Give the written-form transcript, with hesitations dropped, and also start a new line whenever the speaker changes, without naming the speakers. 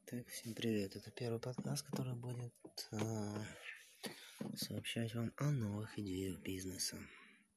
Так, всем привет. Это первый подкаст, который будет сообщать вам о новых идеях бизнеса.